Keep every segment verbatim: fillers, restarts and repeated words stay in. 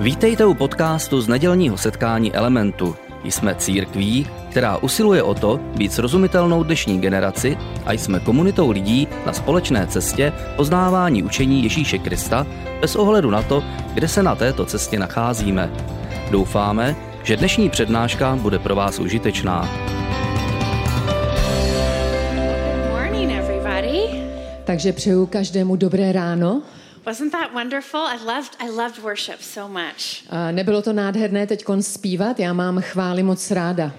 Vítejte u podcastu z nedělního setkání Elementu. Jsme církví, která usiluje o to být srozumitelnou dnešní generaci a jsme komunitou lidí na společné cestě poznávání učení Ježíše Krista bez ohledu na to, kde se na této cestě nacházíme. Doufáme, že dnešní přednáška bude pro vás užitečná. Morning, everybody. Takže přeju každému dobré ráno. Wasn't that wonderful? I loved I loved worship so much. A nebylo to nádherné teďkon zpívat? Já mám chvály moc ráda.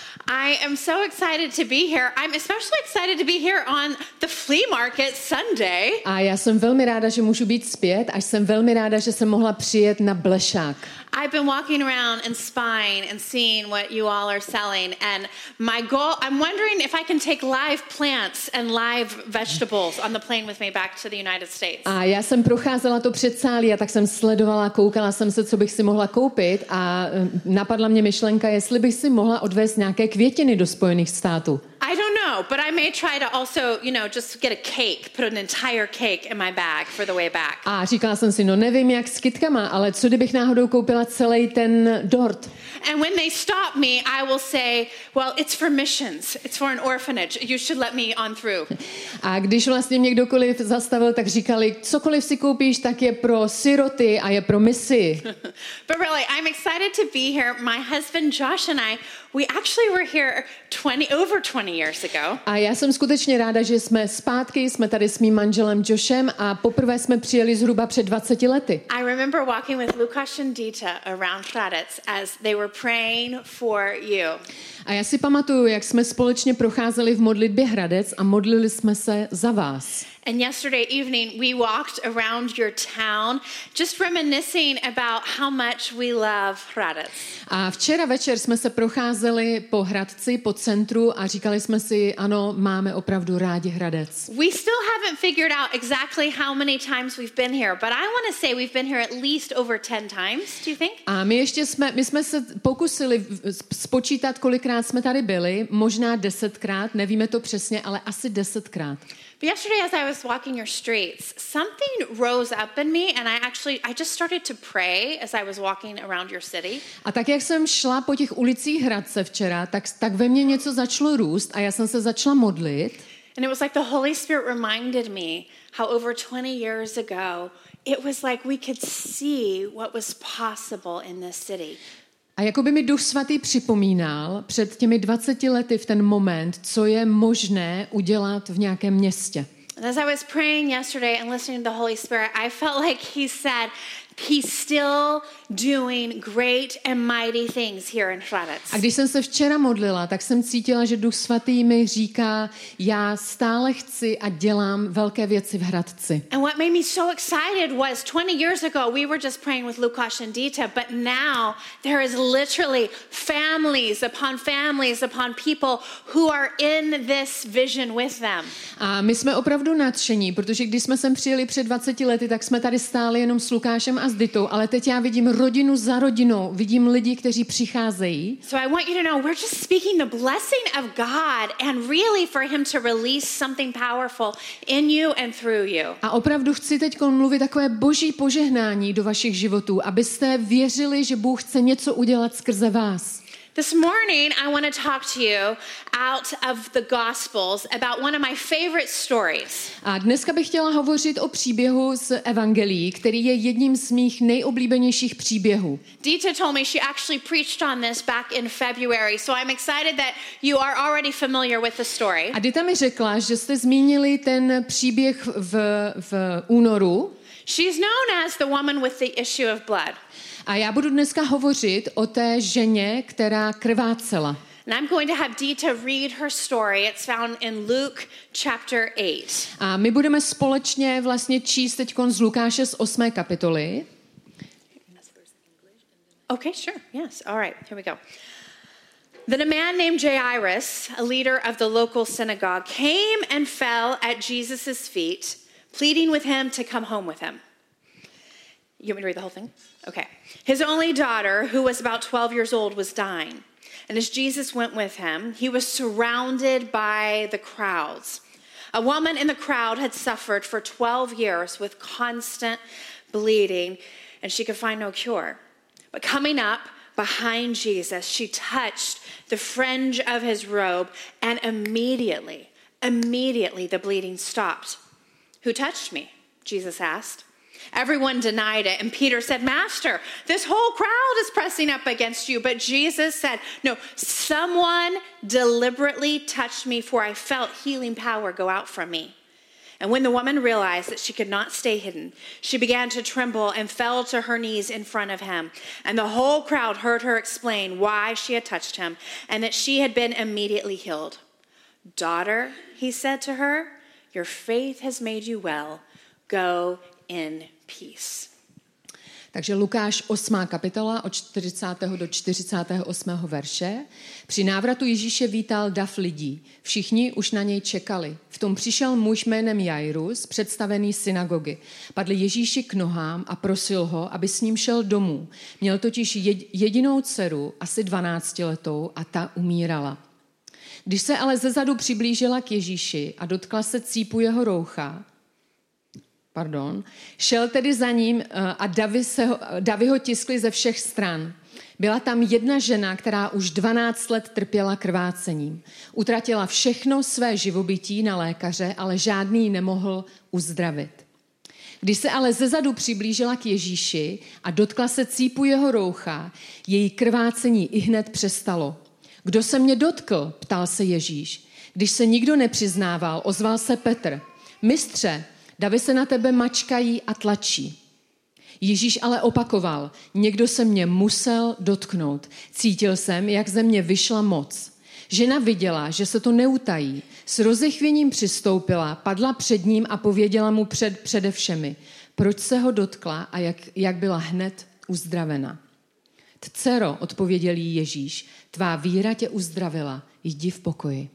I am so excited to be here. I'm especially excited to be here on the flea market Sunday. A já jsem velmi ráda, že můžu být zpět, a jsem velmi ráda, že jsem mohla přijet na blešák. I've been walking around and spying and seeing what you all are selling, and my goal, I'm wondering if I can take live plants and live vegetables on the plane with me back to the United States. A já jsem procházela to předsálí a tak jsem sledovala, koukala jsem se, co bych si mohla koupit, a napadla mě myšlenka, jestli bych si mohla odvést nějaké květiny do Spojených států. I don't know, but I may try to also, you know, just get a cake, put an entire cake in my bag for the way back. A říkala jsem si, no nevím jak s kytkama, ale co kdybych náhodou koupila celý ten dort. And when they stop me, I will say, well, it's for missions. It's for an orphanage. You should let me on through. A když vlastně mě kdokoliv zastavil, tak říkali, cokoliv si koupíš, tak je pro siroty a je pro misi. But really, I'm excited to be here. My husband Josh and I, we actually were here twenty over twenty years ago. A já jsem skutečně ráda, že jsme zpátky, jsme tady s mým manželem Joshem a poprvé jsme přijeli zhruba před dvaceti lety. I remember walking with Lukáš and Dita around Hradec as they were praying for you. A já si pamatuju, jak jsme společně procházeli v modlitbě Hradec a modlili jsme se za vás. And yesterday evening we walked around your town just reminiscing about how much we love Hradec. A včera večer jsme se procházeli po Hradci, po centru a říkali jsme si, ano, máme opravdu rádi Hradec. We still haven't figured out exactly how many times we've been here, but I want to say we've been here at least over ten times, do you think? A my ještě jsme, my jsme se pokusili spočítat, kolikrát jsme tady byli, možná desetkrát, nevíme to přesně, ale asi desetkrát. But yesterday as I was walking your streets, something rose up in me and I actually, I just started to pray as I was walking around your city. A tak, jak jsem šla po těch ulicích Hradce včera, tak, tak ve mně něco začalo růst a já jsem se začala modlit. And it was like the Holy Spirit reminded me how over twenty years ago, it was like we could see what was possible in this city. A jako by mi Duch Svatý připomínal před těmi dvaceti lety v ten moment, co je možné udělat v nějakém městě. And as I was praying yesterday and listening to the Holy Spirit, I felt like he said, he's still doing great and mighty things here in Hradec. A když jsem se včera modlila, tak jsem cítila, že Duch Svatý mi říká, já stále chci a dělám velké věci v Hradci. And what made me so excited was twenty years ago we were just praying with Lukáš and Dita, but now there is literally families upon families upon people who are in this vision with them. A my jsme opravdu nadšení, protože když jsme sem přijeli před dvaceti lety, tak jsme tady stáli jenom s Lukášem a s Ditou, ale teď já vidím rodinu za rodinou, vidím lidi, kteří přicházejí. So I want you to know we're just speaking the blessing of God and really for him to release something powerful in you and through you. A opravdu chci teď mluvit takové boží požehnání do vašich životů, abyste věřili, že Bůh chce něco udělat skrze vás. This morning, I want to talk to you out of the Gospels about one of my favorite stories. A dneska bych chtěla hovořit o příběhu z Evangelií, který je jedním z mých nejoblíbenějších příběhů. Dita told me she actually preached on this back in February, so I'm excited that you are already familiar with the story. A Dita mi řekla, že jste zmínili ten příběh v, v únoru. She's known as the woman with the issue of blood. A já budu dneska hovořit o té ženě, která krvácela. And I'm going to have Dita read her story. It's found in Luke chapter eight. A my budeme společně vlastně číst teďkon z Lukáše z osmé kapitoly. Okay, sure. Yes. All right. Here we go. Then a man named Jairus, a leader of the local synagogue, came and fell at Jesus' feet, pleading with him to come home with him. You want me to read the whole thing? Okay. His only daughter, who was about twelve years old, was dying. And as Jesus went with him, he was surrounded by the crowds. A woman in the crowd had suffered for twelve years with constant bleeding, and she could find no cure. But coming up behind Jesus, she touched the fringe of his robe, and immediately, immediately the bleeding stopped. Who touched me? Jesus asked. Everyone denied it, and Peter said, Master, this whole crowd is pressing up against you. But Jesus said, no, someone deliberately touched me, for I felt healing power go out from me. And when the woman realized that she could not stay hidden, she began to tremble and fell to her knees in front of him. And the whole crowd heard her explain why she had touched him and that she had been immediately healed. Daughter, he said to her, your faith has made you well. Go in peace. Takže Lukáš osmá kapitola od čtyřicátého do čtyřicátého osmého verše. Při návratu Ježíše vítal dav lidí. Všichni už na něj čekali. V tom přišel muž jménem Jairus, představený synagogy. Padl Ježíši k nohám a prosil ho, aby s ním šel domů. Měl totiž jedinou dceru, asi dvanáctiletou, a ta umírala. Když se ale zezadu přiblížila k Ježíši a dotkla se cípu jeho roucha, Pardon. Šel tedy za ním a davy, se ho, davy ho tiskly ze všech stran. Byla tam jedna žena, která už dvanáct let trpěla krvácením. Utratila všechno své živobytí na lékaře, ale žádný ji nemohl uzdravit. Když se ale zezadu přiblížila k Ježíši a dotkla se cípu jeho roucha, její krvácení ihned přestalo. Kdo se mě dotkl? Ptal se Ježíš. Když se nikdo nepřiznával, ozval se Petr. Mistře, davy se na tebe mačkají a tlačí. Ježíš ale opakoval, někdo se mě musel dotknout. Cítil jsem, jak ze mě vyšla moc. Žena viděla, že se to neutají. S rozechvěním přistoupila, padla před ním a pověděla mu před, přede všemi, proč se ho dotkla a jak, jak byla hned uzdravena. Dcero, odpověděl jí Ježíš, tvá víra tě uzdravila, jdi v pokoji.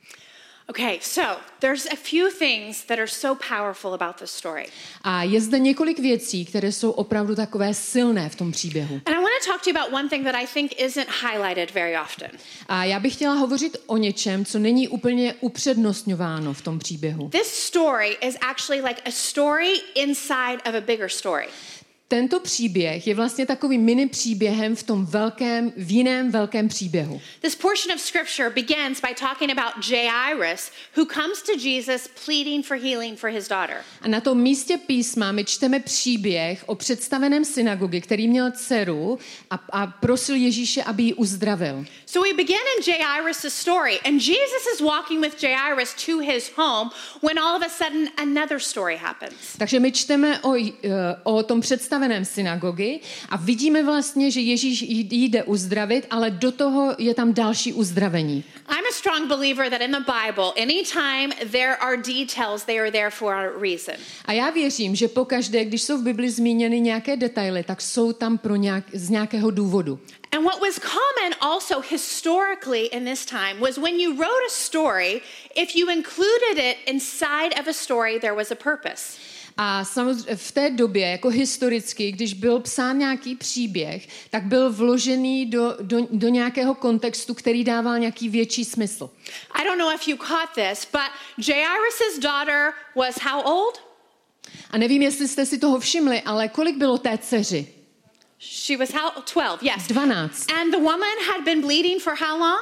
Okay, so there's a few things that are so powerful about this story. A je zde několik věcí, které jsou opravdu takové silné v tom příběhu. And I want to talk to you about one thing that I think isn't highlighted very often. A já bych chtěla hovořit o něčem, co není úplně upřednostňováno v tom příběhu. This story is actually like a story inside of a bigger story. Tento příběh je vlastně takovým mini příběhem v tom velkém, v jiném velkém příběhu. This portion of scripture begins by talking about Jairus, who comes to Jesus pleading for healing for his daughter. A na tom místě písma my čteme příběh o představeném synagogy, který měl dceru a, a prosil Ježíše, aby ji uzdravil. So we begin in Jairus' story, and Jesus is walking with Jairus to his home when all of a sudden another story happens. Takže my čteme o, o tom představeném synagogy a vidíme vlastně, že Ježíš jí jde uzdravit, ale do toho je tam další uzdravení. I'm a strong believer that in the Bible, anytime there are details, they are there for a reason. A já věřím, že pokaždé, když jsou v Bibli zmíněny nějaké detaily, tak jsou tam pro nějak, z nějakého důvodu. And what was common also historically in this time was when you wrote a story, if you included it inside of a story, there was a purpose. A samozřejmě v té době, jako historicky, když byl psán nějaký příběh, tak byl vložený do, do, do nějakého kontextu, který dával nějaký větší smysl. I don't know if you caught this, but Jairus' daughter was how old? A nevím, jestli jste si toho všimli, ale kolik bylo té dceři? She was how twelve, yes. dvanáct. And the woman had been bleeding for how long?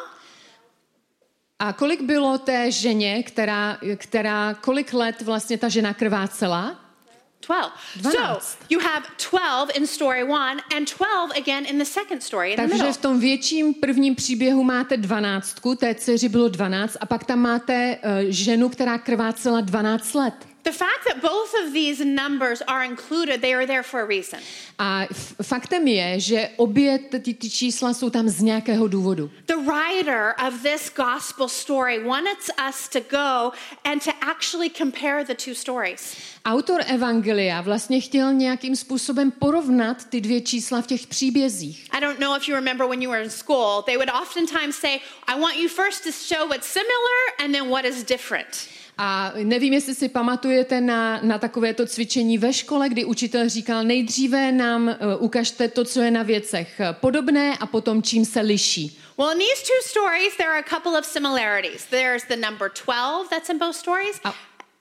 A kolik bylo té ženě, která, která kolik let vlastně ta žena krvácela? twelve. dvanáct. So you have twelve in story one and twelve again in the second story in the middle. Takže v tom větším prvním příběhu máte dvanáctku, té dceři bylo dvanáct a pak tam máte uh, ženu, která krvácela dvanáct let. The fact that both of these numbers are included, they are there for a reason. A f- faktem je, že obě ty, ty čísla jsou tam z nějakého důvodu. The writer of this gospel story wants us to go and to actually compare the two stories. Autor evangelia vlastně chtěl nějakým způsobem porovnat ty dvě čísla v těch příbězích. I don't know if you remember when you were in school, they would oftentimes say, I want you first to show what's similar and then what is different. A nevím, jestli si pamatujete na, na takovéto cvičení ve škole, kdy učitel říkal, nejdříve nám uh, ukažte to, co je na věcech podobné a potom čím se liší. Well, in these two stories, there are a couple of similarities. There's the number twelve that's in both stories. A,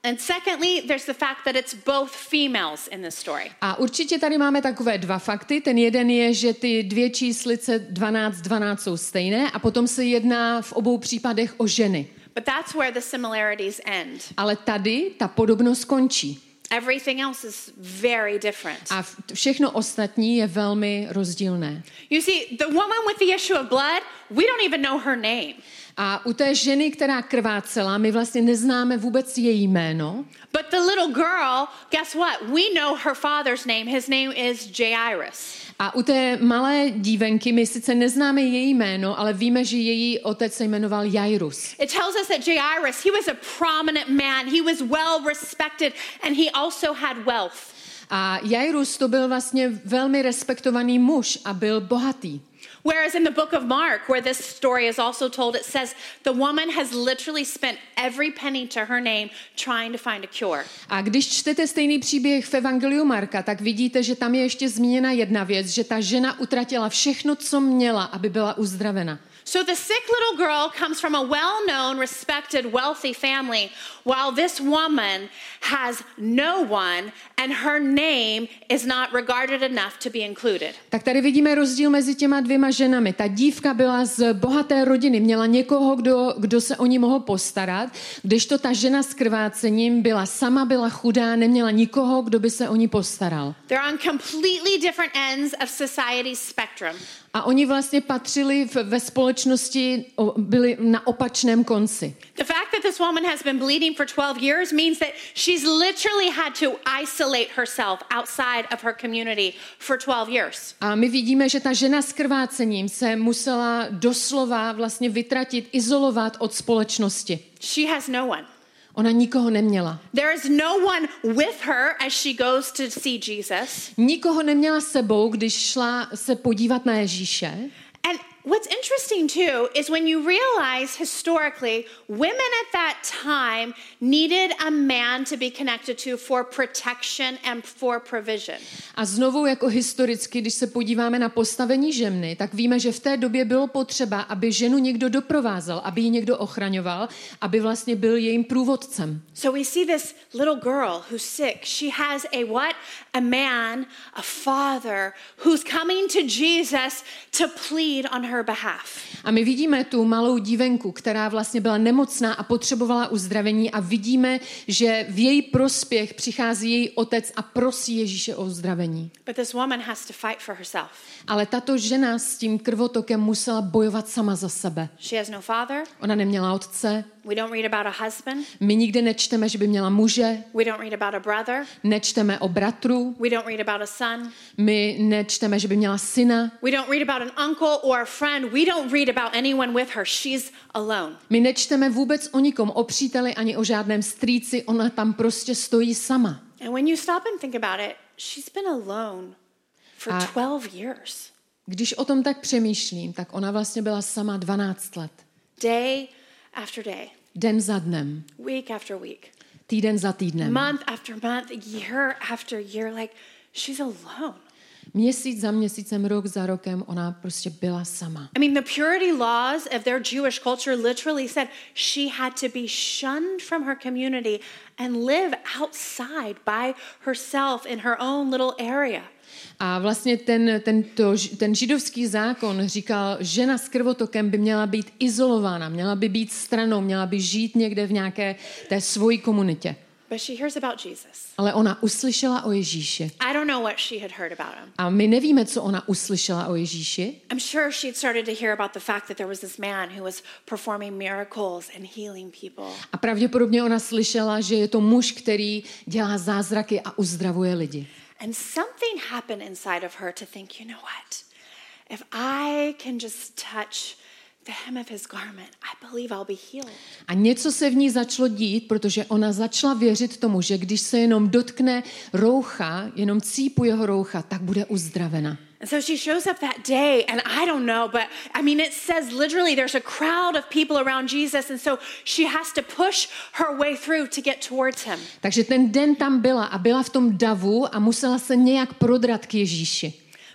And secondly, there's the fact that it's both females in this story. A určitě tady máme takové dva fakty. Ten jeden je, že ty dvě číslice dvanáct dvanáct jsou stejné a potom se jedná v obou případech o ženy. But that's where the similarities end. Ale tady ta podobnost končí. Everything else is very different. A všechno ostatní je velmi rozdílné. You see, the woman with the issue of blood, we don't even know her name. A u té ženy, která krvácela, my vlastně neznáme vůbec její jméno. But the little girl, guess what? We know her father's name. His name is Jairus. A u té malé dívenky my sice neznáme její jméno, ale víme, že její otec se jmenoval Jairus. It tells us that Jairus, he was a prominent man. He was well respected and he also had wealth. A Jairus to byl vlastně velmi respektovaný muž a byl bohatý. Whereas in the book of Mark, where this story is also told, it says the woman has literally spent every penny to her name trying to find a cure. A když čtete stejný příběh v Evangeliu Marka, tak vidíte, že tam je ještě zmíněna jedna věc, že ta žena utratila všechno, co měla, aby byla uzdravena. So the sick little girl comes from a well-known, respected, wealthy family, while this woman has no one and her name is not regarded enough to be included. Tak tady vidíme rozdíl mezi těma dvěma ženami. Ta dívka byla z bohaté rodiny, měla někoho, kdo, kdo se o ní mohl postarat, kdežto ta žena s krvácením byla sama, byla chudá, neměla nikoho, kdo by se o ní postaral. They're on completely different ends of society's spectrum. A oni vlastně patřili v, ve společnosti, byli na opačném konci. The fact that this woman has been bleeding for twelve years means that she's literally had to isolate herself outside of her community for twelve years. A my vidíme, že ta žena s krvácením se musela doslova vlastně vytratit, izolovat od společnosti. She has no one. Ona nikoho neměla. There is no one with her as she goes to see Jesus. Nikoho neměla sebou, když šla se podívat na Ježíše. And what's interesting too is when you realize historically women at that time needed a man to be connected to for protection and for provision. A znovu jako historicky, když se podíváme na postavení ženy, tak víme, že v té době bylo potřeba, aby ženu někdo doprovázel, aby ji někdo ochraňoval, aby vlastně byl jejím průvodcem. So we see this little girl who's sick. She has a what? A man, a father who's coming to Jesus to plead on her behalf. A my vidíme tu malou dívenku, která vlastně byla nemocná a potřebovala uzdravení a vidíme, že v její prospěch přichází její otec a prosí Ježíše o uzdravení. But this woman has to fight for herself. Ale tato žena s tím krvotokem musela bojovat sama za sebe. She has no father. Ona neměla otce. We don't read about a husband. My nikde nečteme, že by měla muže. We don't read about a brother. Nečteme o bratru. We don't read about a son. My nečteme, že by měla syna. We don't read about an uncle or a friend. We don't read about anyone with her. She's alone. My nečteme vůbec o nikom, o příteli ani o žádném strýci. Ona tam prostě stojí sama. And when you stop and think about it, she's been alone for A twelve years. když o tom tak přemýšlím, tak ona vlastně byla sama dvanáct let. Day after day. Den za dnem. Week after week. Týden za týdnem. Month after month, year after year, like she's alone. Měsíc za měsícem, rok za rokem, ona prostě byla sama. I mean, the purity laws of their Jewish culture literally said she had to be shunned from her community and live outside by herself in her own little area. A vlastně ten, ten, to, ten židovský zákon říkal, žena s krvotokem by měla být izolována, měla by být stranou, měla by žít někde v nějaké té svojí komunitě. But she hears about Jesus. Ale ona uslyšela o Ježíši. I don't know what she had heard about him. A my nevíme, co ona uslyšela o Ježíši. I'm sure she had started to hear about the fact that there was this man who was performing miracles and healing people. A pravděpodobně ona slyšela, že je to muž, který dělá zázraky a uzdravuje lidi. And something happened inside of her to think, you know what? If I can just touch the hem of his garment, I believe I'll be healed. A něco se v ní začalo dít, protože ona začala věřit tomu, že když se jenom dotkne roucha, jenom cípu jeho roucha, tak bude uzdravena. And so she shows up that day, and I don't know, but I mean, it says literally there's a crowd of people around Jesus, and so she has to push her way through to get towards him. Takže ten den tam byla a byla v tom davu a musela se nějak prodrat k Ježíši.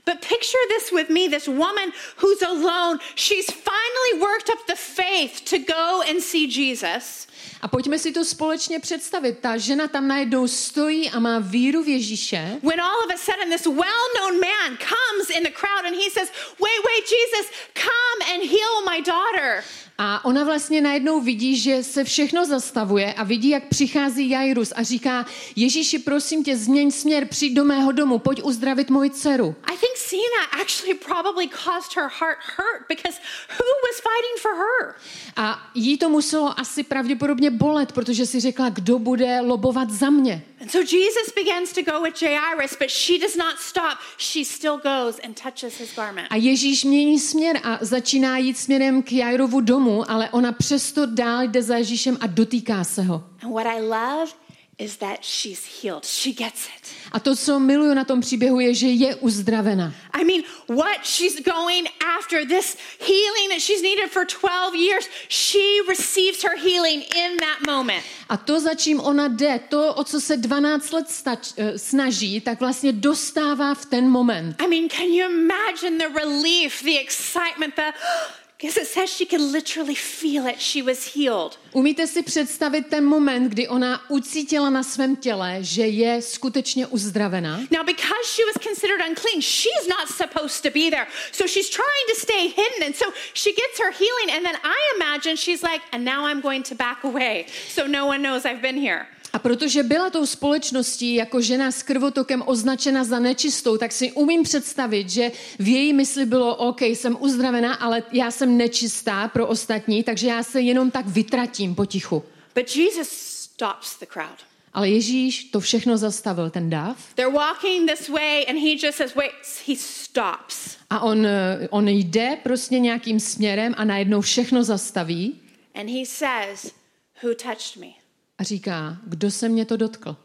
But picture this with me, this woman who's alone. She's finally worked up the faith to go and see Jesus. A pojďme si to společně představit. Ta žena tam najednou stojí a má víru v Ježíše. When all of a sudden this well-known man comes in the crowd and he says, wait, wait, Jesus, come and heal my daughter. A ona vlastně najednou vidí, že se všechno zastavuje a vidí, jak přichází Jairus a říká, Ježíši, prosím tě, změň směr, přijď do mého domu, pojď uzdravit moji dceru. I think seeing that actually probably caused her heart hurt because who was fighting for her? A jí to muselo asi pravděpodobně bolet, protože si řekla, kdo bude lobovat za mě. And so Jesus begins to go with Jairus, but she does not stop. She still goes and touches his garment. A Ježíš mění směr a začíná jít směrem k Jairovu domu, ale ona přesto dál jde za Ježíšem a dotýká se ho. And what I love is that she's healed. She gets it. A to, co miluju na tom příběhu, je, že je uzdravena. I mean, what she's going after, this healing that she's needed for twelve years, she receives her healing in that moment. A to, za čím ona jde, to, o co se dvanáct let stač, snaží, tak vlastně dostává v ten moment. I mean, can you imagine the relief, the excitement, the... Because it says she could literally feel it. She was healed. Umíte si představit ten moment, kdy ona ucítila na svém těle, že je skutečně uzdravená? Now, because she was considered unclean, she's not supposed to be there. So she's trying to stay hidden. And so she gets her healing. And then I imagine she's like, and now I'm going to back away. So no one knows I've been here. A protože byla tou společností jako žena s krvotokem označena za nečistou, tak si umím představit, že v její mysli bylo, OK, jsem uzdravená, ale já jsem nečistá pro ostatní, takže já se jenom tak vytratím potichu. But Jesus stops the crowd. Ale Ježíš to všechno zastavil, ten dav. They're walking this way and he just says, wait, he stops. A on, on jde prostě nějakým směrem a najednou všechno zastaví. And he says, who touched me? A říká, kdo se mě to dotkl?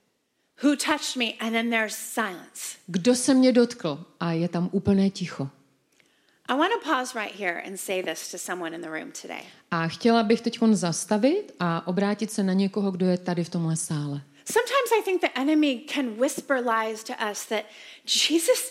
Who touched me? And then there's silence. Kdo se mě dotkl? A je tam úplné ticho. I want to pause right here and say this to someone in the room today. A chtěla bych teď zastavit a obrátit se na někoho, kdo je tady v tomhle sále. Sometimes I think the enemy can whisper lies to us that Jesus,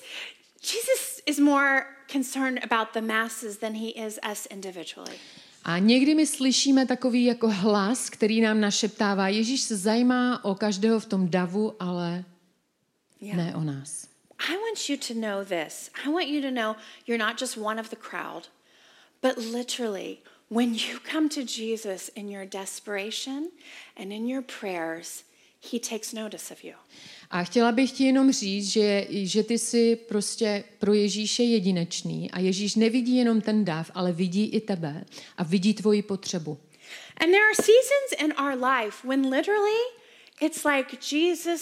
Jesus is more concerned about the masses than he is us individually. A někdy my slyšíme takový jako hlas, který nám našeptává, Ježíš se zajímá o každého v tom davu, ale yeah. ne o nás. I want you to know this. I want you to know you're not just one of the crowd, but literally when you come to Jesus in your desperation and in your prayers, he takes notice of you. A chtěla bych ti jenom říct, že, že ty jsi prostě pro Ježíše jedinečný a Ježíš nevidí jenom ten dav, ale vidí i tebe a vidí tvoji potřebu. And there are seasons in our life when literally it's like Jesus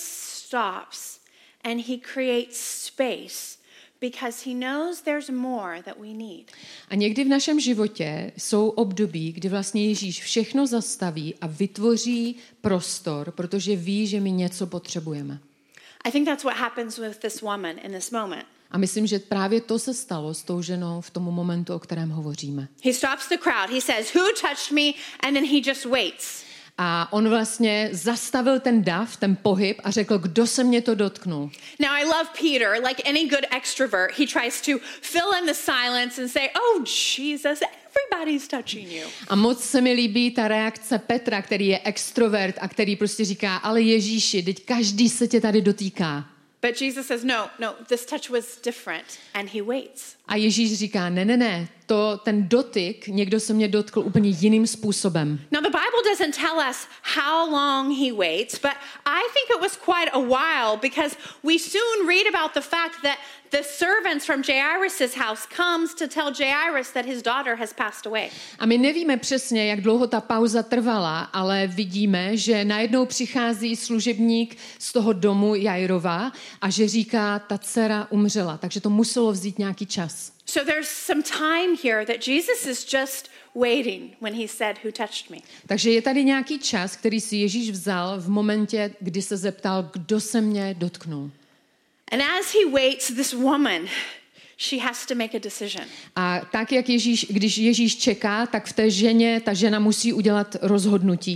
stops and he creates space because he knows there's more that we need. A někdy v našem životě jsou období, kdy vlastně Ježíš všechno zastaví a vytvoří prostor, protože ví, že my něco potřebujeme. I think that's what happens with this woman in this moment. A myslím, že právě to se stalo s tou ženou v tom momentu, o kterém hovoříme. He stops the crowd. He says, "Who touched me?" And then he just waits. A on vlastně zastavil ten dav, ten pohyb a řekl, kdo se mě to dotknul. Now I love Peter, like any good extrovert, he tries to fill in the silence and say, "Oh Jesus, everybody's touching you." A moc se mi líbí ta reakce Petra, který je extrovert a který prostě říká, ale Ježíši, teď každý se tě tady dotýká. But Jesus says, "No, no, this touch was different," and he waits. A Ježíš říká, ne, ne, ne, to, ten dotyk, někdo se mě dotkl úplně jiným způsobem. Now the Bible doesn't tell us how long he waits, but I think it was quite a while because we soon read about the fact that the servants from Jairus' house comes to tell Jairus that his daughter has passed away. A my nevíme přesně, jak dlouho ta pauza trvala, ale vidíme, že najednou přichází služebník z toho domu Jairova a že říká, ta dcera umřela, takže to muselo vzít nějaký čas. So there's some time here that Jesus is just waiting when he said, "Who touched me?" Takže je tady nějaký čas, který si Ježíš vzal v momentě, kdy se zeptal, kdo se mě dotknul. And as he waits, this woman, she has to make a decision. A tak, jak Ježíš, když Ježíš čeká, tak v té ženě, ta žena musí udělat rozhodnutí.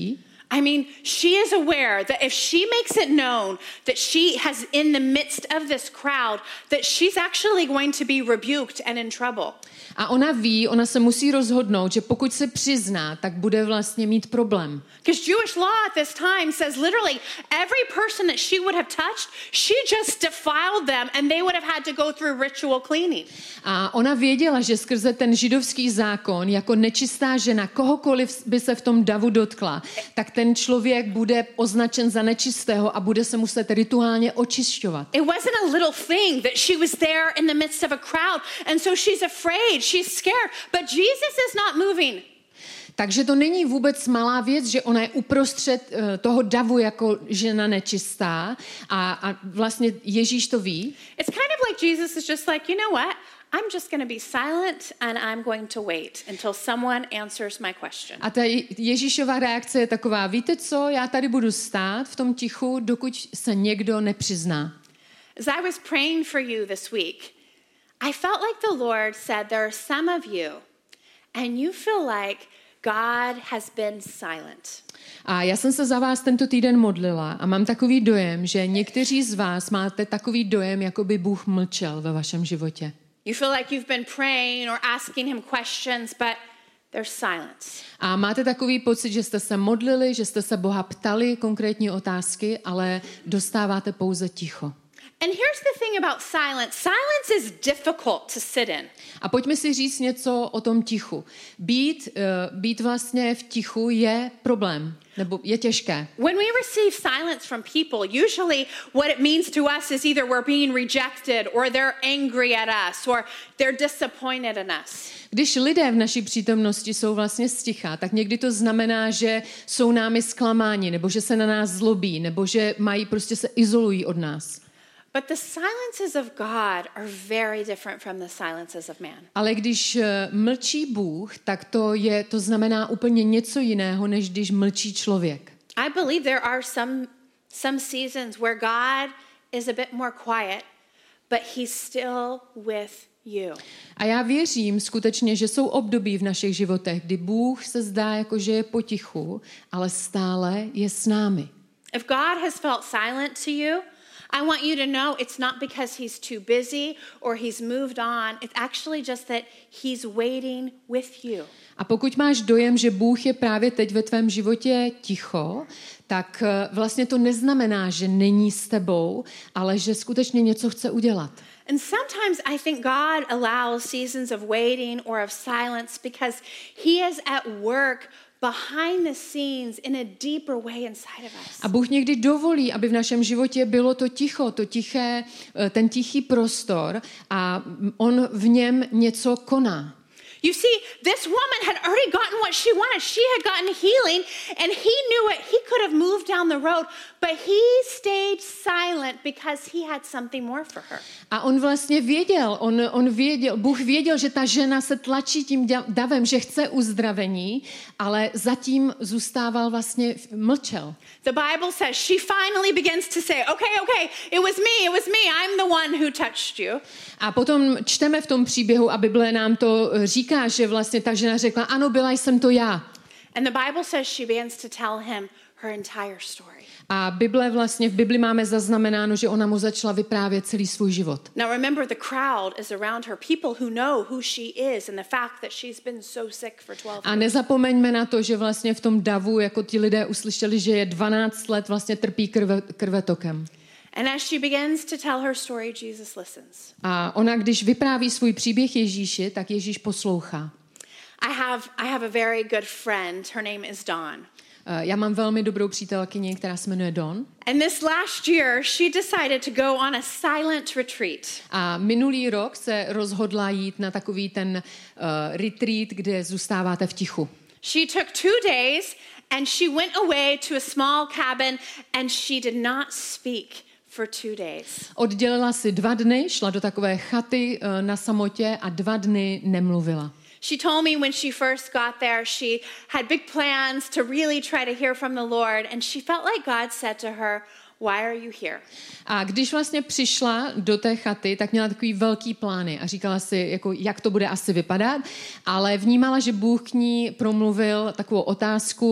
I mean, she is aware that if she makes it known that she has in the midst of this crowd, that she's actually going to be rebuked and in trouble. A ona ví, ona se musí rozhodnout, že pokud se přizná, tak bude vlastně mít problém. Because Jewish law at this time says literally every person that she would have touched, she just defiled them and they would have had to go through ritual cleaning. A ona věděla, že skrze ten židovský zákon, jako nečistá žena, kohokoliv by se v tom davu dotkla, tak ten člověk bude označen za nečistého a bude se muset rituálně očišťovat. It wasn't a little thing that she was there in the midst of a crowd and so she's afraid, she's scared, but Jesus is not moving. Takže to není vůbec malá věc, že ona je uprostřed uh, toho davu jako žena nečistá a, a vlastně Ježíš to ví. It's kind of like Jesus is just like, you know what? I'm just going to be silent and I'm going to wait until someone answers my question. A ta Ježíšova reakce je taková, víte co, já tady budu stát v tom tichu, dokud se někdo nepřizná. As I was praying for you this week, I felt like the Lord said there are some of you and you feel like God has been silent. A já jsem se za vás tento týden modlila a mám takový dojem, že někteří z vás máte takový dojem, jako by Bůh mlčel ve vašem životě. You feel like you've been praying or asking him questions, but there's silence. A máte takový pocit, že jste se modlili, že jste se Boha ptali konkrétní otázky, ale dostáváte pouze ticho. And here's the thing about silence. Silence is difficult to sit in. A pojďme si říct něco o tom tichu. Být, uh, být vlastně v tichu je problém, nebo je těžké. When we receive silence from people, usually what it means to us is either we're being rejected or they're angry at us or they're disappointed in us. Když lidé v naší přítomnosti jsou vlastně sticha, tak někdy to znamená, že jsou námi zklamáni, nebo že se na nás zlobí, nebo že mají prostě se izolují od nás. But the silences of God are very different from the silences of man. Ale když mlčí Bůh, tak to je to znamená úplně něco jiného, než když mlčí člověk. I believe there are some some seasons where God is a bit more quiet, but he's still with you. A já věřím skutečně, že jsou období v našich životech, kdy Bůh se zdá jako, že je potichu, ale stále je s námi. If God has felt silent to you, I want you to know it's not because he's too busy or he's moved on. It's actually just that he's waiting with you. A pokud máš dojem, že Bůh je právě teď ve tvém životě ticho, tak vlastně to neznamená, že není s tebou, ale že skutečně něco chce udělat. And sometimes I think God allows seasons of waiting or of silence because he is at work behind the scenes in a deeper way inside of us. A Bůh někdy dovolí, aby v našem životě bylo to ticho, to tiché, ten tichý prostor a on v něm něco koná. You see, this woman had already gotten what she wanted. She had gotten healing, and he knew it. He could have moved down the road, but he stayed silent because he had something more for her. A on vlastně věděl, on, on věděl, Bůh věděl, že ta žena se tlačí tím davem, že chce uzdravení, ale zatím zůstával vlastně, mlčel. The Bible says she finally begins to say, okay, okay, it was me, it was me, I'm the one who touched you. A potom čteme v tom příběhu a Bible nám to říká, že vlastně ta žena řekla, ano, byla jsem to já. And the Bible says she begins to tell him her entire story. A Bible vlastně v Bibli máme zaznamenáno, že ona mu začala vyprávět celý svůj život. Now remember, the crowd is around her, people who know who she is and the fact that she's been so sick for twelve years. A nezapomeňme na to, že vlastně v tom davu, jako ti lidé uslyšeli, že je dvanáct let vlastně trpí krve, krvetokem. And as she begins to tell her story, Jesus listens. A ona, když vypráví svůj příběh Ježíši, tak Ježíš poslouchá. I have I have a very good friend. Her name is Dawn. Já mám velmi dobrou přítelkyni, která se jmenuje Dawn. And this last year, she decided to go on a silent retreat. A minulý rok se rozhodla jít na takový ten uh, retreat, kde zůstáváte v tichu. She took two days and she went away to a small cabin and she did not speak for two days. Oddělila si dva dny, šla do takové chaty uh, na samotě a dva dny nemluvila. She told me when she first got there, she had big plans to really try to hear from the Lord, and she felt like God said to her, why are you here? A když vlastně přišla do té chaty, tak měla takový velký plány a říkala si, jako, jak to bude asi vypadat, ale vnímala, že Bůh k ní promluvil takovou otázku,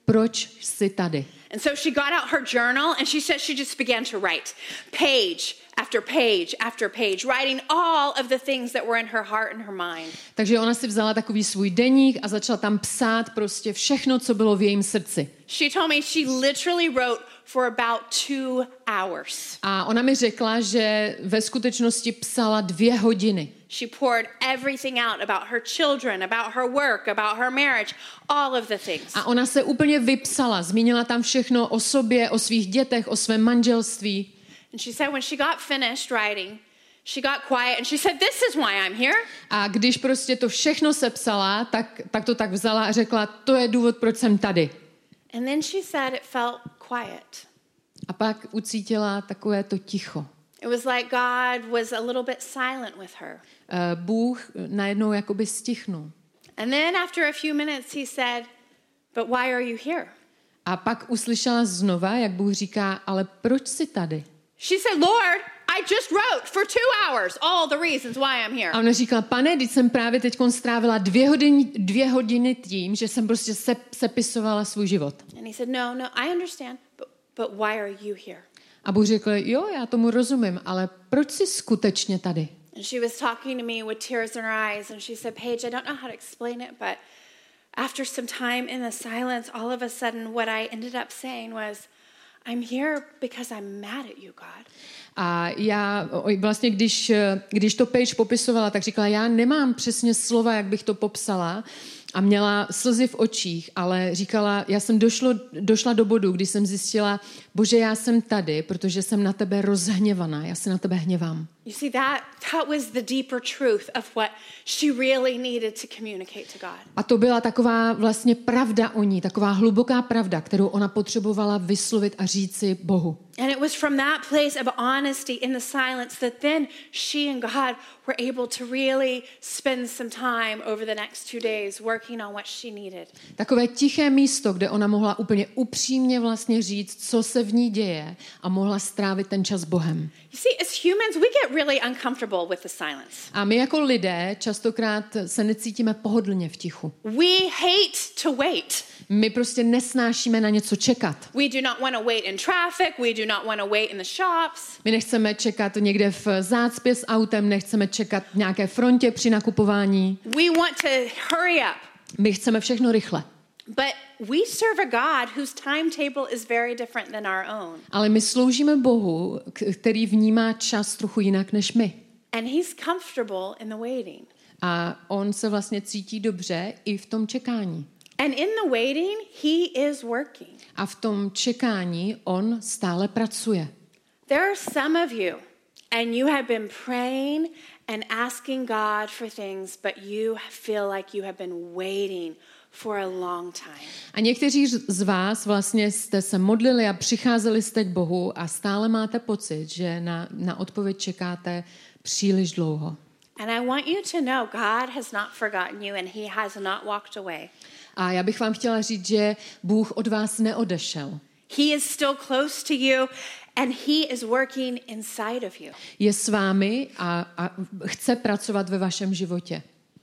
proč jsi tady. And so she got out her journal and she said she just began to write page after page after page, writing all of the things that were in her heart and her mind. Takže ona si vzala takový svůj deník a začala tam psát prostě všechno, co bylo v jejím srdci. She told me she literally wrote for about two hours. A ona mi řekla, že ve skutečnosti psala dvě hodiny. She poured everything out about her children, about her work, about her marriage, all of the things. A ona se úplně vypsala, zmínila tam všechno o sobě, o svých dětech, o svém manželství. And she said when she got finished writing, she got quiet and she said, "This is why I'm here." A když prostě to všechno sepsala, tak, tak to tak vzala a řekla, to je důvod, proč jsem tady. And then she said it felt quiet. A pak ucítila takové to ticho. It was like God was a little bit silent with her. Uh, Bůh najednou jakoby stichnul. And then after a few minutes he said, "But why are you here?" A pak uslyšela znova, jak Bůh říká, ale proč jsi tady? She said, "Lord, I just wrote for two hours all the reasons why I'm here." A ona říkala, pane, teď jsem právě teď strávila dvě hodiny, dvě hodiny tím, že jsem prostě se, sepisovala svůj život. And he said, "No, no, I understand, but, but why are you here?" A Bůh řekl, jo, já tomu rozumím, ale proč jsi skutečně tady? And she was talking to me with tears in her eyes, and she said, "Paige, I don't know how to explain it, but after some time in the silence, all of a sudden what I ended up saying was, I'm here because I'm mad at you, God." A já vlastně, když, když to Paige popisovala, tak říkala, já nemám přesně slova, jak bych to popsala, a měla slzy v očích, ale říkala, já jsem došlo, došla do bodu, kdy jsem zjistila, Bože, já jsem tady, protože jsem na tebe rozhněvaná, já se na tebe hněvám. You see, that, that was the deeper truth of what she really needed to communicate to God. A to byla taková vlastně pravda o ní, taková hluboká pravda, kterou ona potřebovala vyslovit a říci Bohu. And it was from that place of honesty in the silence that then she and God were able to really spend some time over the next two days working on what she needed. Takové tiché místo, kde ona mohla úplně upřímně vlastně říct, co se v ní děje a mohla strávit ten čas s Bohem. You see, as humans, we get really uncomfortable with the silence. A my jako lidé častokrát se necítíme pohodlně v tichu. We hate to wait. My prostě nesnášíme na něco čekat. We do not want to wait in traffic. We do not want to wait in the shops. My nechceme čekat někde v zácpě s autem, nechceme čekat v nějaké frontě při nakupování. We want to hurry up. My chceme všechno rychle. But we serve a God whose timetable is very different than our own. Ale my sloužíme Bohu, který vnímá čas trochu jinak než my. And he's comfortable in the waiting. A on se vlastně cítí dobře i v tom čekání. And in the waiting, he is working. A v tom čekání on stále pracuje. There are some of you, and you have been praying and asking God for things, but you feel like you have been waiting for a long time. A někteří z vás vlastně jste se modlili a přicházeli jste k Bohu a stále máte pocit, že na, na odpověď čekáte příliš dlouho. And I want you to know God has not forgotten you and he has not walked away. A já bych vám chtěla říct, že Bůh od vás neodešel. He is still close to you and he is working inside of you. Je s vámi a, a chce pracovat ve vašem životě.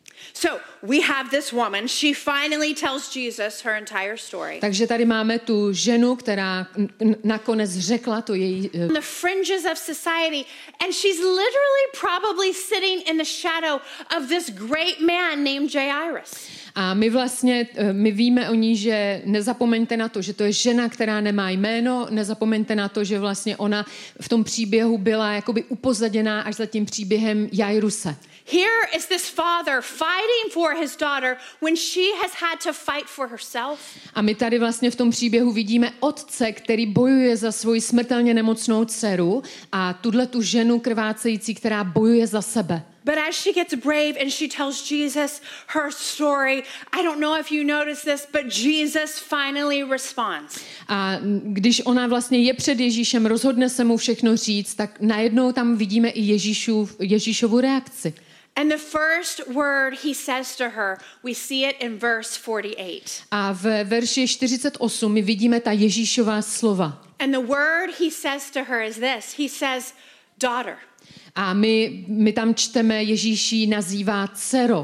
So we have this woman. She finally tells Jesus her entire story. Takže tady máme tu ženu, která nakonec řekla to její... On the fringes of society, and she's literally probably sitting in the shadow of this great man named Jairus. A my vlastně, my víme o ní, že nezapomeňte na to, že to je žena, která nemá jméno, nezapomeňte na to, že vlastně ona v tom příběhu byla jakoby upozaděná až za tím příběhem Jairuse. Here is this father fighting for his daughter when she has had to fight for herself. A my tady vlastně v tom příběhu vidíme otce, který bojuje za svoji smrtelně nemocnou dceru a tuhle tu ženu krvácející, která bojuje za sebe. But as she gets brave and she tells Jesus her story, I don't know if you noticed this, but Jesus finally responds. A když ona vlastně je před Ježíšem, rozhodne se mu všechno říct, tak najednou tam vidíme i Ježíšův, Ježíšovu reakci. And the first word he says to her, we see it in verse forty-eight. A v verši čtyřicet osm my vidíme ta Ježíšová slova. And the word he says to her is this. He says, daughter. A my, my tam čteme, Ježíš ji nazývá dcero.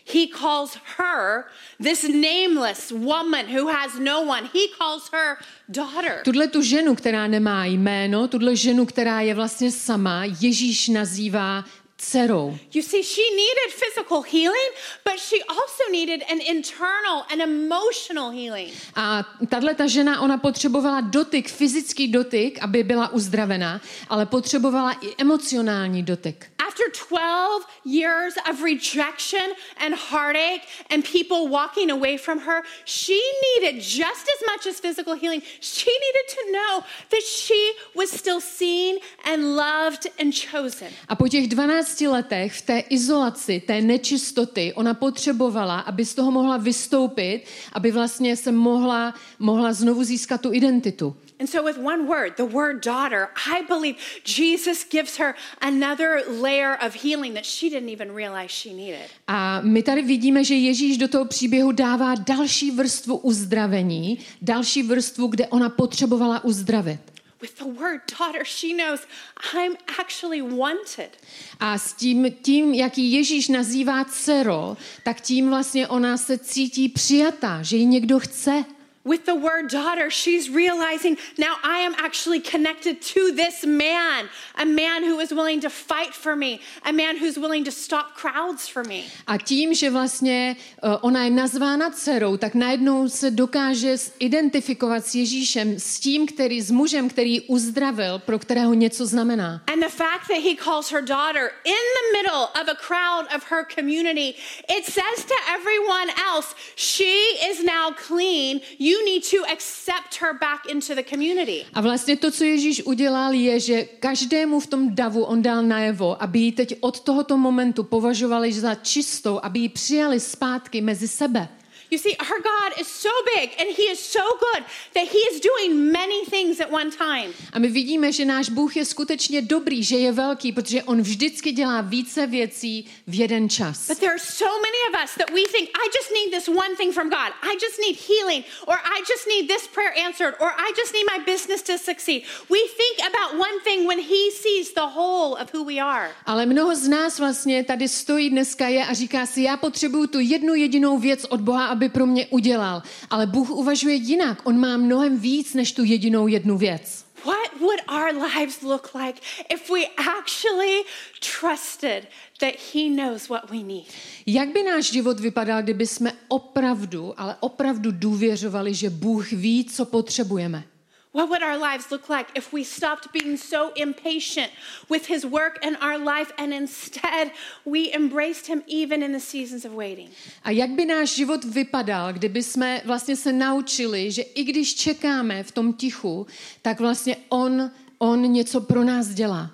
He calls her, this nameless woman who has no one, he calls her daughter. Tuhle tu ženu, která nemá jméno, tuhle ženu, která je vlastně sama, Ježíš nazývá dcerou. You see, she needed physical healing, but she also needed an internal and emotional healing. A tahle ta žena, ona potřebovala dotyk, fyzický dotyk, aby byla uzdravená, ale potřebovala i emocionální dotyk. After twelve years of rejection and heartache and people walking away from her, she needed just as much as physical healing. She needed to know that she was still seen and loved and chosen. A po těch dvanácti letech v té izolaci, té nečistoty, ona potřebovala, aby z toho mohla vystoupit, aby vlastně se mohla, mohla znovu získat tu identitu. And so with one word, the word daughter, I believe Jesus gives her another layer of healing that she didn't even realize she needed. A my tady vidíme, že Ježíš do toho příběhu dává další vrstvu uzdravení, další vrstvu, kde ona potřebovala uzdravit. With the word daughter, she knows I'm actually wanted. A s tím, tím, jak ji Ježíš nazývá dcero, tak tím vlastně ona se cítí přijatá, že ji někdo chce. With the word daughter, she's realizing now I am actually connected to this man, a man who is willing to fight for me, a man who's willing to stop crowds for me. A tím, že vlastně uh, ona je nazvána dcerou, tak najednou se dokáže identifikovat s Ježíšem, s tím, který, s mužem, který uzdravil, pro kterého něco znamená. And the fact that he calls her daughter in the middle of a crowd of her community, it says to everyone else, she is now clean. You You need to accept her back into the community. A vlastně to, co Ježíš udělal, je, že každému v tom davu on dal najevo, aby ji teď od tohoto momentu považovali za čistou, aby ji přijali zpátky mezi sebe. You see, our God is so big and he is so good that he is doing many things at one time. A my vidíme, že náš Bůh je skutečně dobrý, že je velký, protože on vždycky dělá více věcí v jeden čas. But there are so many of us that we think, I just need this one thing from God. I just need healing, or I just need this prayer answered, or I just need my business to succeed. We think about one thing when he sees the whole of who we are. Ale mnoho z nás vlastně tady stojí dneska je a říká si, já potřebuju tu jednu jedinou věc od Boha, aby pro mě udělal. Ale Bůh uvažuje jinak. On má mnohem víc než tu jedinou jednu věc. What would our lives look like if we actually trusted that he knows what we need? Jak by náš život vypadal, kdyby jsme opravdu, ale opravdu důvěřovali, že Bůh ví, co potřebujeme? What would our lives look like if we stopped being so impatient with his work in our life and instead we embraced him even in the seasons of waiting? A jak by náš život vypadal, kdyby jsme vlastně se naučili, že i když čekáme v tom tichu, tak vlastně on, on něco pro nás dělá.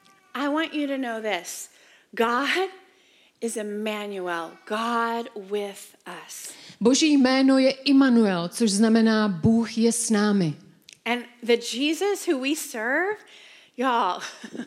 I want you to know this. God is Emmanuel, God with us. Boží jméno je Immanuel, což znamená Bůh je s námi. And the Jesus who we serve, y'all,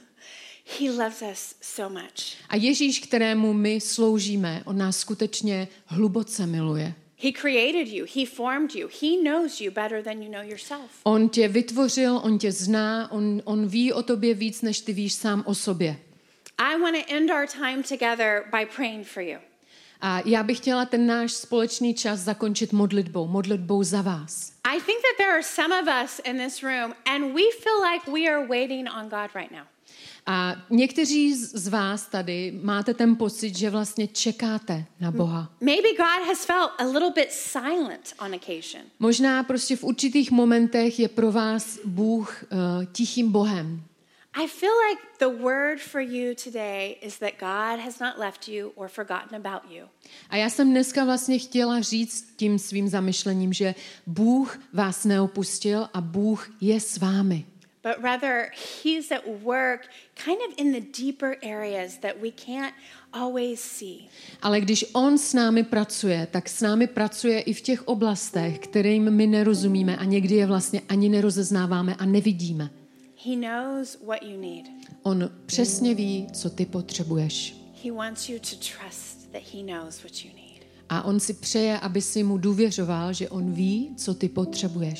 he loves us so much. A Ježíš, kterému my sloužíme, on nás skutečně hluboce miluje. He created you, he formed you, he knows you better than you know yourself. On tě vytvořil, on tě zná, on, on ví o tobě víc, než ty víš sám o sobě. I want to end our time together by praying for you. A já bych chtěla ten náš společný čas zakončit modlitbou, modlitbou za vás. I think that there are some of us in this room and we feel like we are waiting on God right now. A někteří z vás tady máte ten pocit, že vlastně čekáte na Boha. Maybe God has felt a little bit silent on occasion. Možná prostě v určitých momentech je pro vás Bůh uh, tichým Bohem. I feel like the word for you today is that God has not left you or forgotten about you. A já jsem dneska vlastně chtěla říct tím svým zamyšlením, že Bůh vás neopustil a Bůh je s vámi. But rather, he's at work kind of in the deeper areas that we can't always see. Ale když on s námi pracuje, tak s námi pracuje i v těch oblastech, kterým my nerozumíme a někdy je vlastně ani nerozeznáváme a nevidíme. He knows what you need. On přesně ví, co ty potřebuješ. He wants you to trust that he knows what you need. A on si přeje, aby si mu důvěřoval, že on ví, co ty potřebuješ.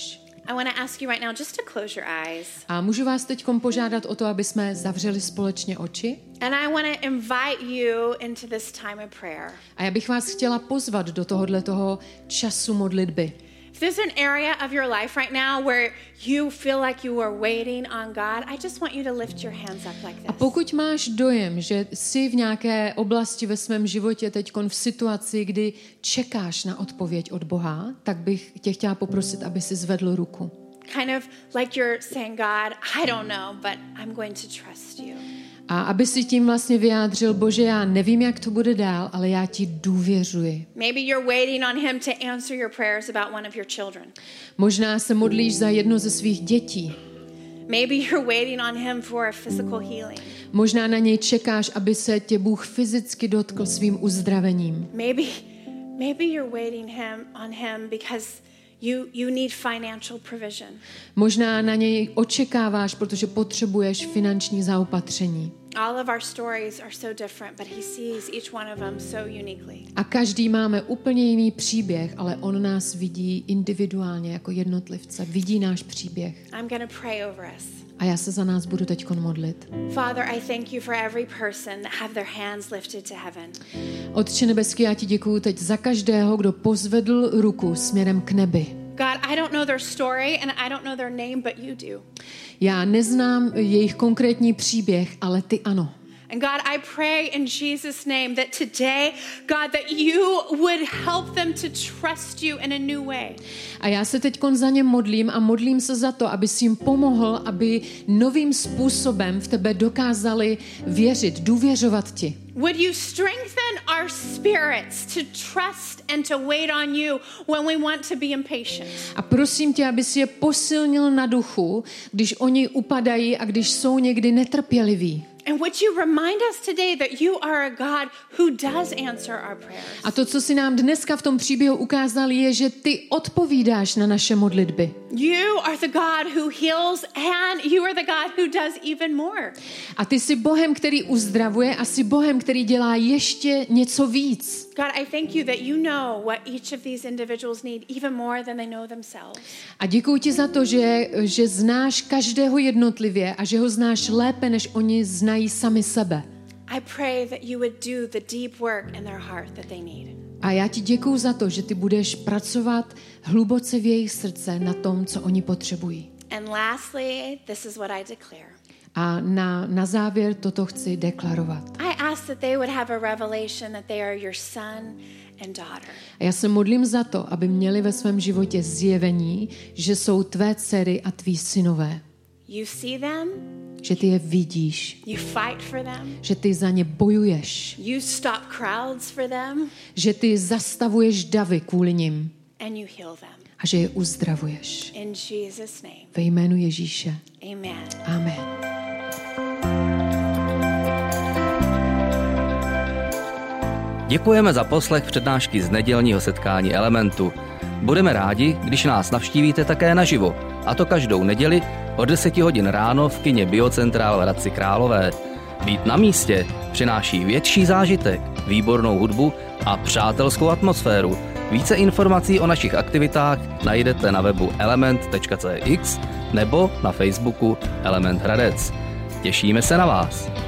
I want to ask you right now just to close your eyes. A můžu vás teď požádat o to, aby jsme zavřeli společně oči? And I want to invite you into this time of prayer. A já bych vás chtěla pozvat do tohohle toho času modlitby. If there's an area of your life right now where you feel like you are waiting on God, I just want you to lift your hands up like this. A pokud máš dojem, že jsi v nějaké oblasti ve svém životě teďkon v situaci, kdy čekáš na odpověď od Boha, tak bych tě chtěla poprosit, aby si zvedl ruku. Kind of like you're saying, God, I don't know, but I'm going to trust you. A aby si tím vlastně vyjádřil, Bože, já nevím, jak to bude dál, ale já ti důvěřuji. Maybe you're waiting on him to answer your prayers about one of your children. Možná se modlíš za jedno ze svých dětí. Maybe you're waiting on him for a physical healing. Možná na něj čekáš, aby se tě Bůh fyzicky dotkl svým uzdravením. Maybe, maybe you're waiting him on him because you you need financial provision. Možná na něj očekáváš, protože potřebuješ finanční zaopatření. All of our stories are so different, but he sees each one of them so uniquely. A každý máme úplně jiný příběh, ale on nás vidí individuálně jako jednotlivce. Vidí náš příběh. I'm going to pray over us. A já se za nás budu teďkon modlit. Father, I thank you for every person that have their hands lifted to heaven. Otče nebeský, já ti děkuju teď za každého, kdo pozvedl ruku směrem k nebi. God, I don't know their story and I don't know their name, but you do. Já neznám jejich konkrétní příběh, ale ty ano. And God, I pray in Jesus' name that today, God, that you would help them to trust you in a new way. A já se teďkon za ně modlím a modlím se za to, aby si jim pomohl, aby novým způsobem v tebe dokázali věřit, důvěřovat ti. Would you strengthen our spirits to trust and to wait on you when we want to be impatient? A prosím tě, aby si je posilnil na duchu, když oni upadají a když jsou někdy netrpěliví. And would you remind us today that you are a God who does answer our prayers? A to, co si nám dneska v tom příběhu ukázal, je, že ty odpovídáš na naše modlitby. You are the God who heals and you are the God who does even more. A ty jsi Bohem, který uzdravuje a jsi Bohem, který dělá ještě něco víc. God, I thank you that you know what each of these individuals need even more than they know themselves. A děkuji ti za to, že, že znáš každého jednotlivě a že ho znáš lépe, než oni znají sami sebe. I pray that you would do the deep work in their heart that they need. A já ti děkuju za to, že ty budeš pracovat hluboce v jejich srdce na tom, co oni potřebují. And lastly, this is what I declare. A na, na závěr toto chci deklarovat. I ask that they would have a revelation that they are your son and daughter. A já se modlím za to, aby měli ve svém životě zjevení, že jsou tvé dcery a tví synové. You see them, že ty je vidíš, you fight for them, že ty za ně bojuješ, you stop crowds for them, že ty zastavuješ davy kvůli nim and you heal them. a že je uzdravuješ. In Jesus' name. Ve jménu Ježíše. Amen. Amen. Děkujeme za poslech přednášky z nedělního setkání Elementu. Budeme rádi, když nás navštívíte také naživo, a to každou neděli od deseti hodin ráno v kině Biocentrál v Hradci Králové. Být na místě přináší větší zážitek, výbornou hudbu a přátelskou atmosféru. Více informací o našich aktivitách najdete na webu element tečka cé x nebo na Facebooku Element Hradec. Těšíme se na vás.